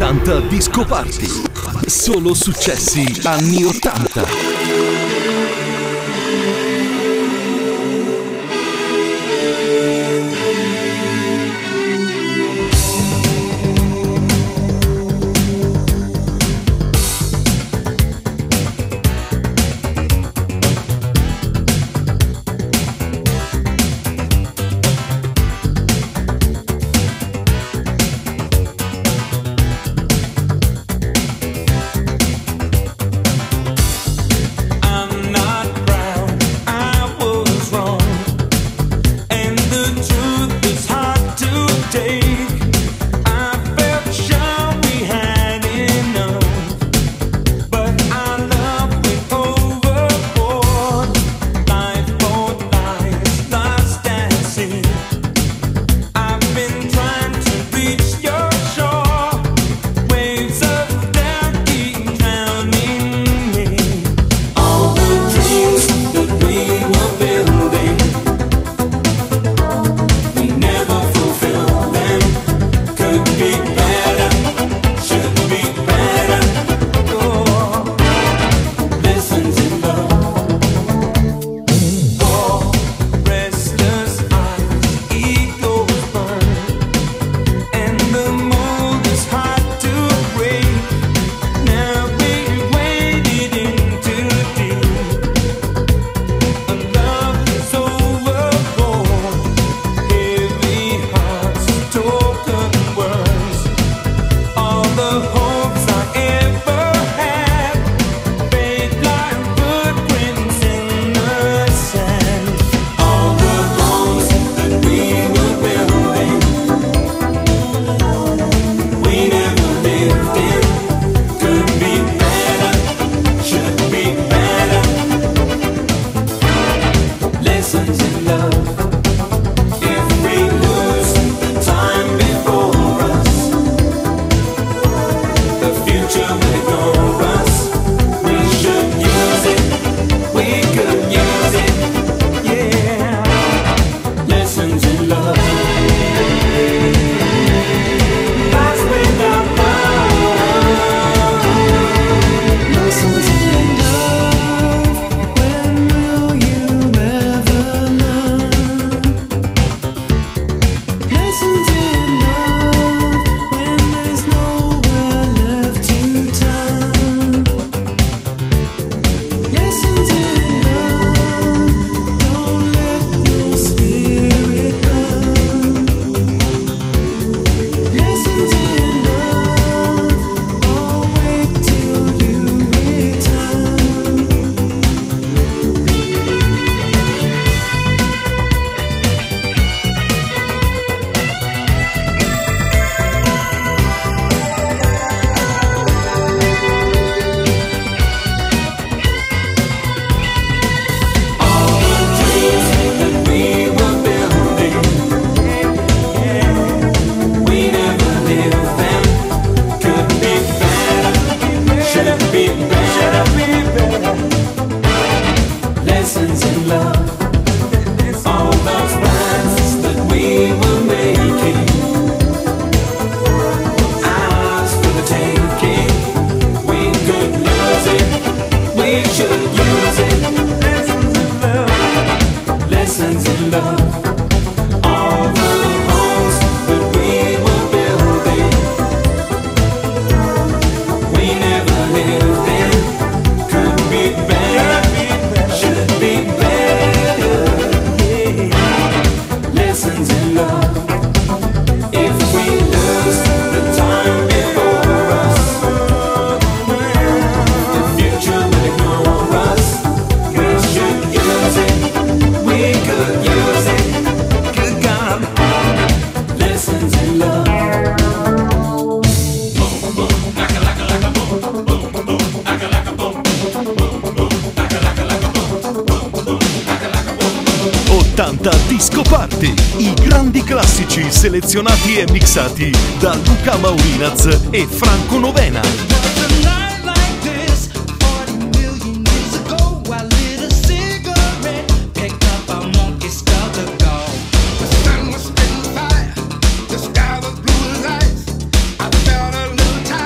80 Disco Party. Solo successi anni 80. Disco Party, i grandi classici selezionati e mixati da Luca Maurinaz e Franco Novena. The sky was blue as ice. I felt a little tired.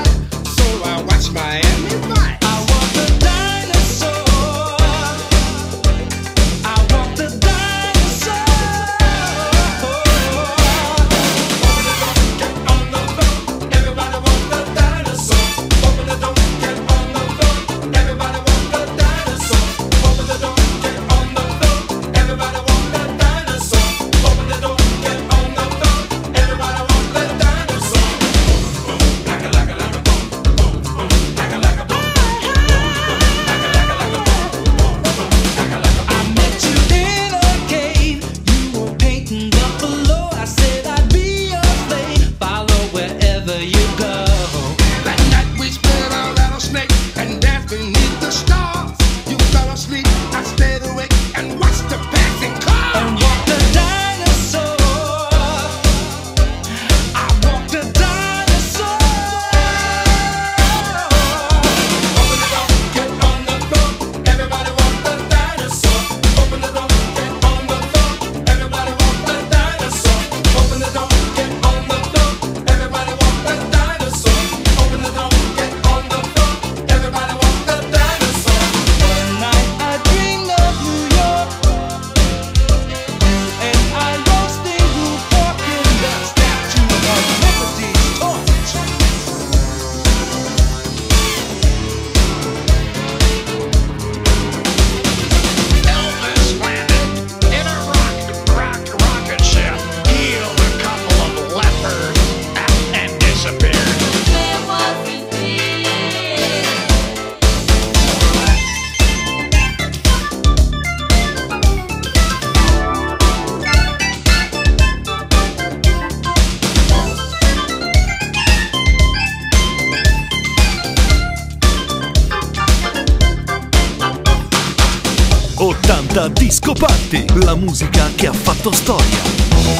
80 Disco Party, la musica che ha fatto storia.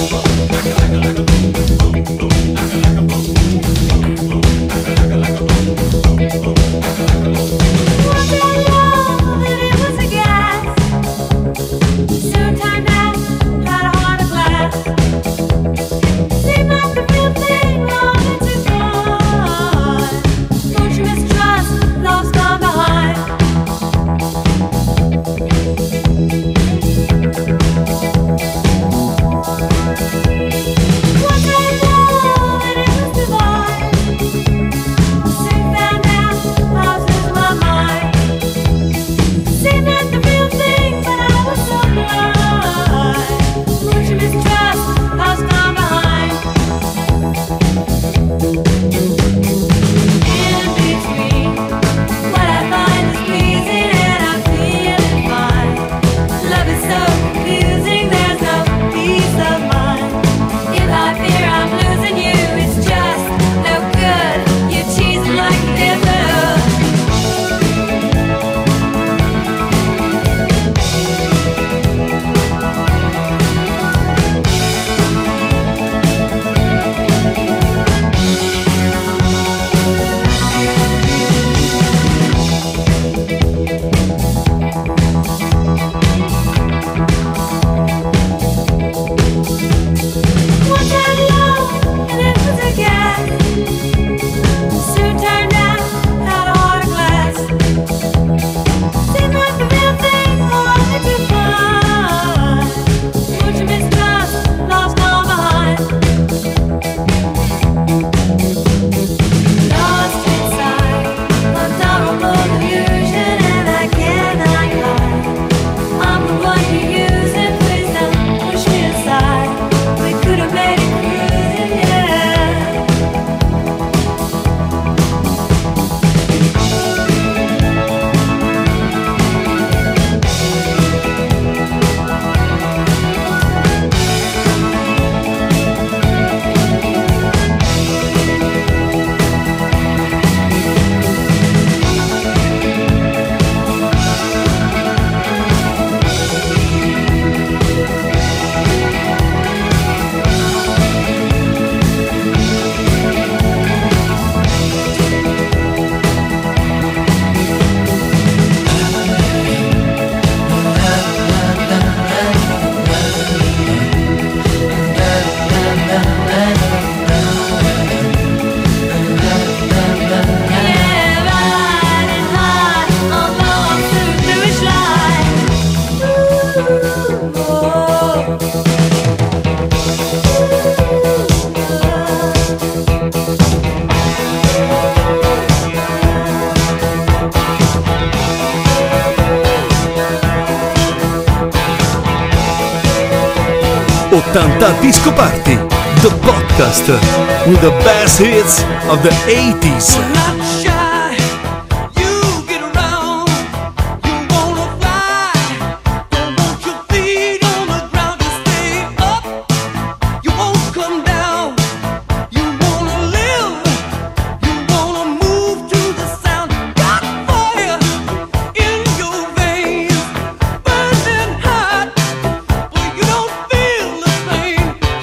Disco Party, the podcast with the best hits of the 80s.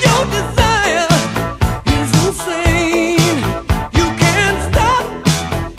Insane. You can't stop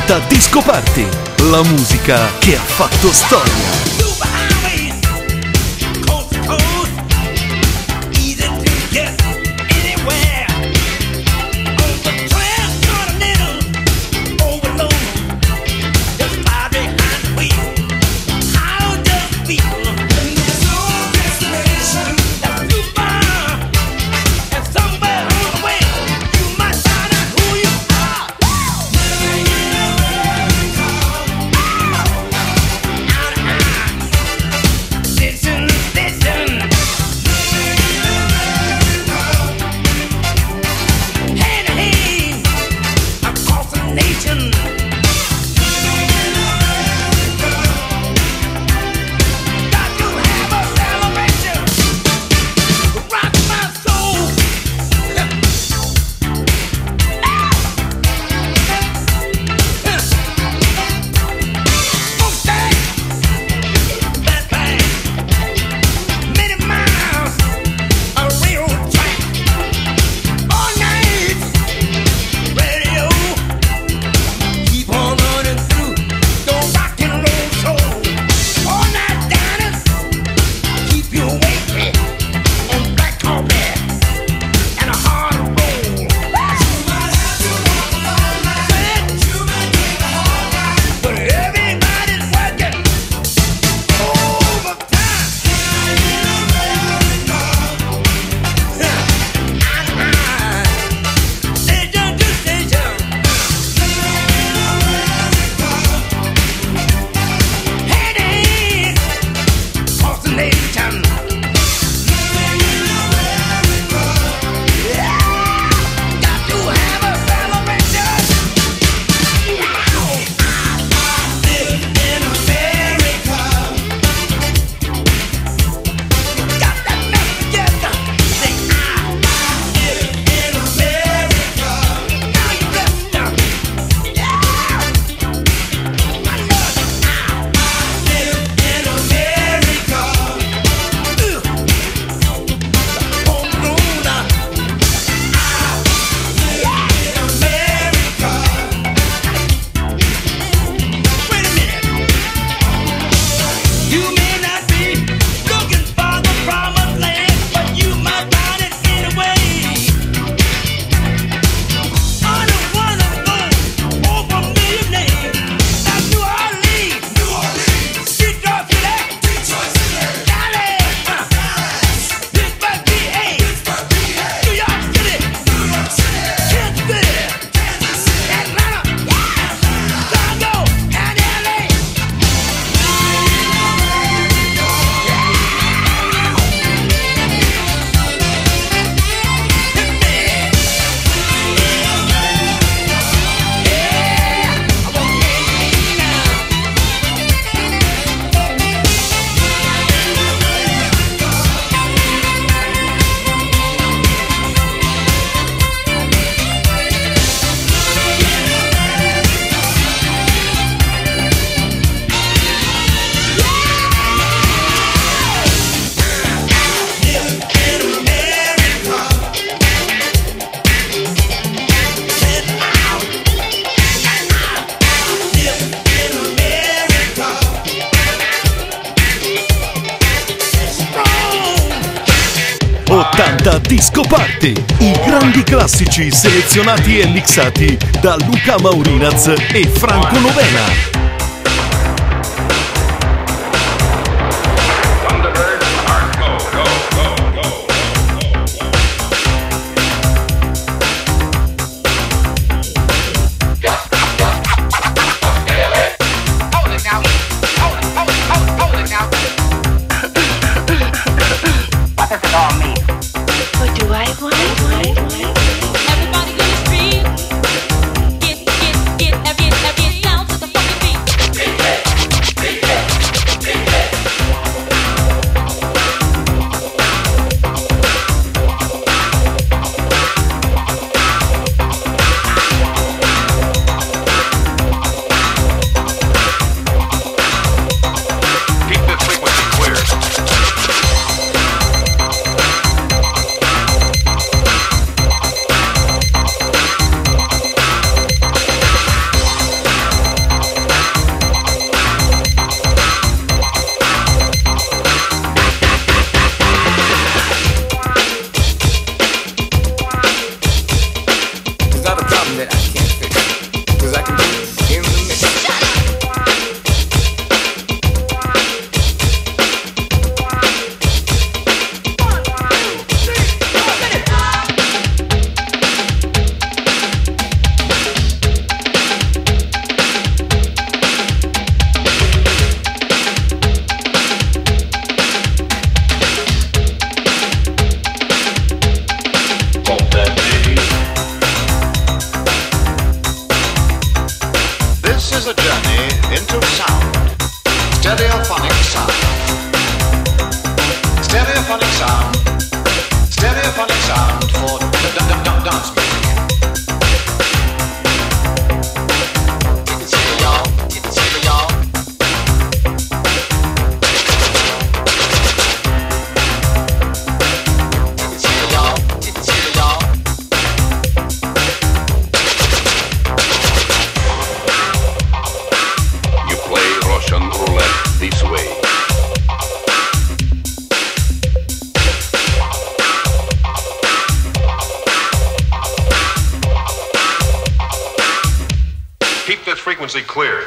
80 Disco Party, la musica che ha fatto storia. Disco Party, i grandi classici selezionati e mixati da Luca Maurinaz e Franco Novena. Everybody in the street, get down to the fucking beat. Stereophonic sound. Stereophonic sound. Stereophonic sound for dance music. Frequency clear.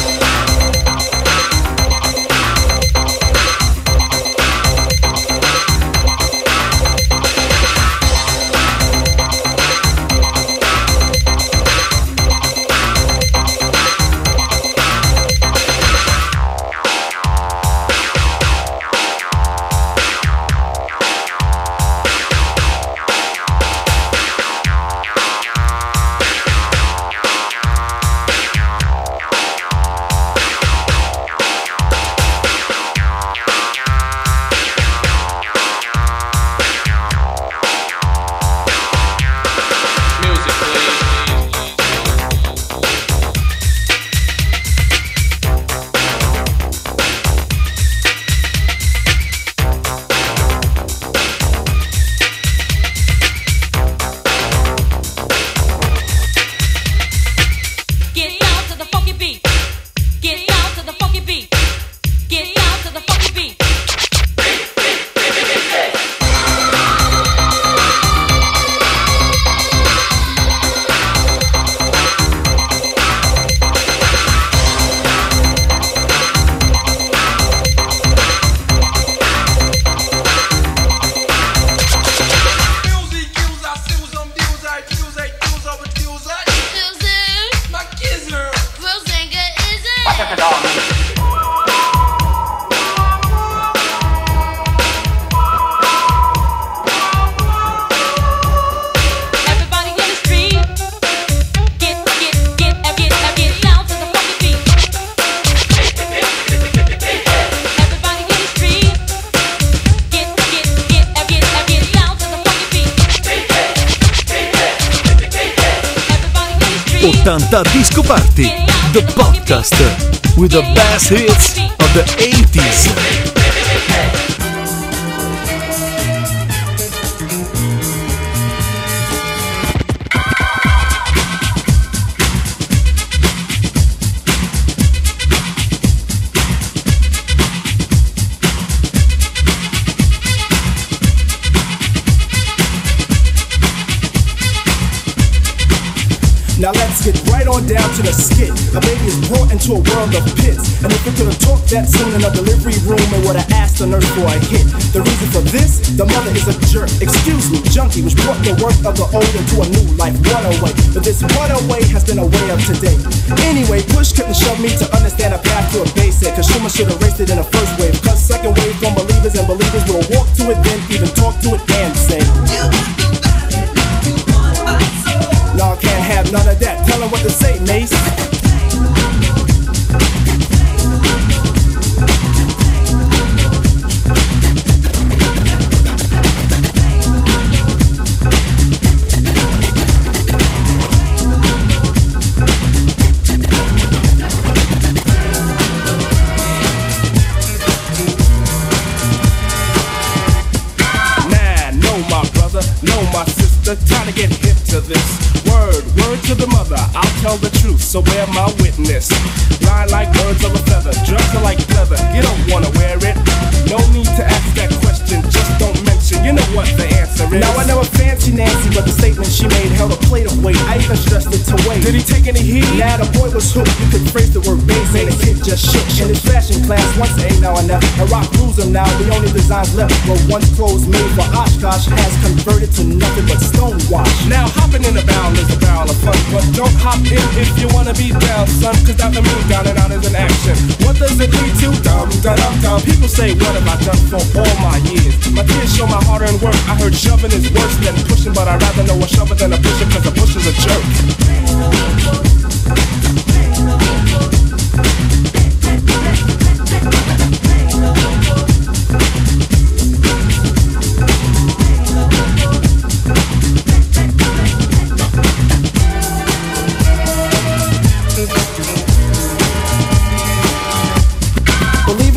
Disco Party, the podcast with the best hits of the 80s. Now let's get right on down to the skit. A baby is brought into a world of pits, and if it could have talked that soon in a delivery room, it would have asked the nurse for a hit. The reason for this, the mother is a jerk. Excuse me, junkie, which brought the work of the old into a new life runaway. But this runaway has been a way of today. Anyway, push couldn't shove me to understand a path to a basic. Cause Schumer should have raced it in the first wave. Cause second wave from believers, and believers will walk to it, then even talk to it and say, no, I can't have none of that. Tell them what to say, Mace. Time to get hip to this. Word to the mother, I'll tell the truth, so bear my witness. Lie like birds of a feather, drugs are like leather, you don't wanna wear it. No need to ask that question, just don't mention, you know what the answer is. Now I know a fancy Nancy, but the statement she made held a plate of weight. I even stressed it to wait. Did he take any heat? Nah, the boy was hooked, you could phrase the word bass, and the kid just shook. In his fashion class, once a now and never, a rock rules him now, the only designs left were once clothes made for Oshkosh has converted to nothing but stonewash. Now hopping in a barrel is a barrel of fun, but don't hop in if you wanna be down, son, cause that the move down and out is an action. What does it lead to? Dum. People say, what have I done for all my years? My kids show my hard-earned work. I heard shoving is worse than pushing, but I'd rather know a shover than a pusher, cause a pusher's a jerk.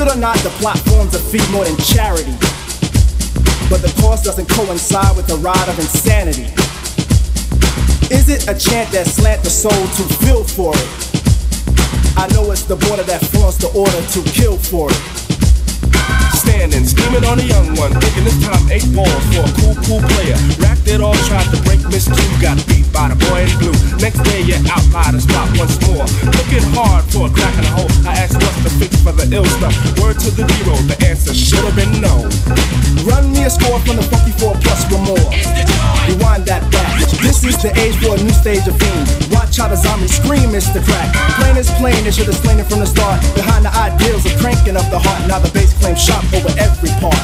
it or not, the plot forms a fee more than charity, but the cost doesn't coincide with the ride of insanity. Is it a chant that slant the soul to feel for it? I know it's the border that flaunts the order to kill for it. Standing, scheming on a young one, thinking this time 8 balls for a cool player. Racked it all, tried to break Miss Q, got beat by the boy in blue. Next day you're out by the spot once more, looking hard for a crack in the hole. I asked what's the fix for the ill stuff. Word to the zero, the answer should have been no. Run me a score from the funky 4 plus one more. Rewind that back. This is the age for a new stage of fame. Watch how the zombies scream, Mr. Crack. Plain is plain, they should have slain it from the start. Behind the ideals of cranking up the heart, now the bass claims shot over every part.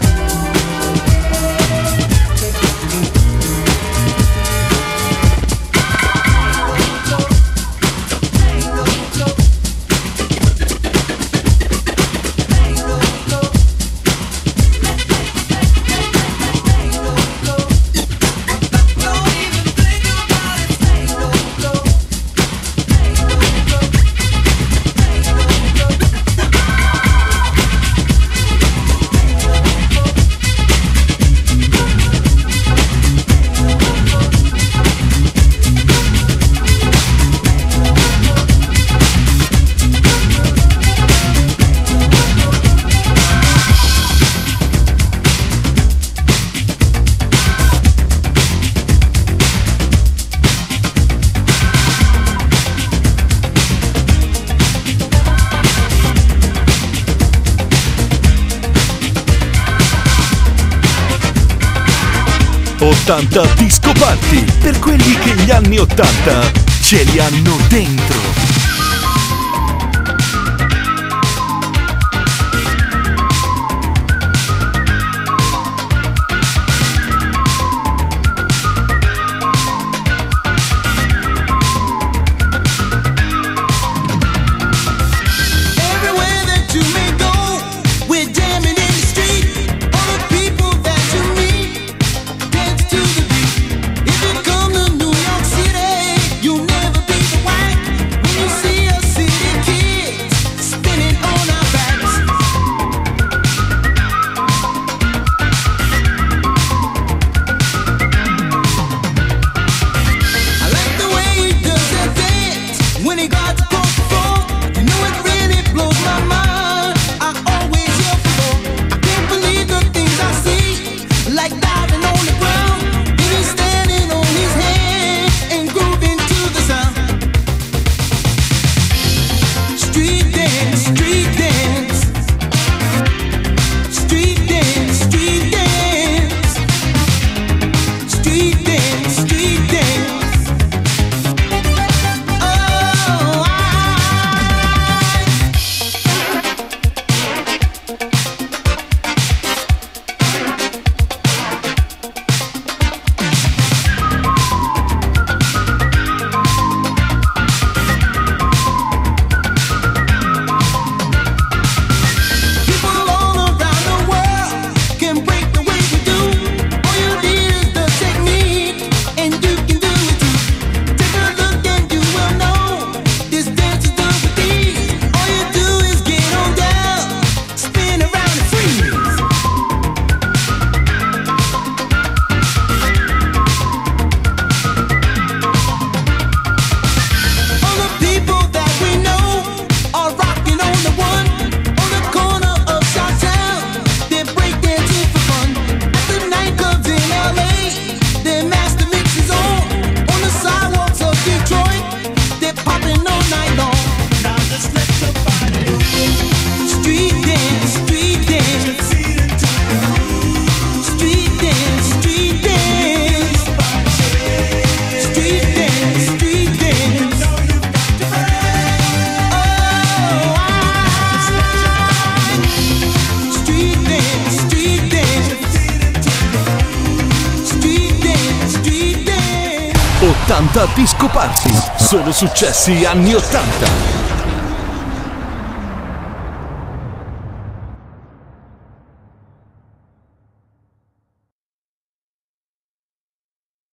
80 Disco Party, per quelli che gli anni 80 ce li hanno dentro. Disco Party, solo successi anni 80.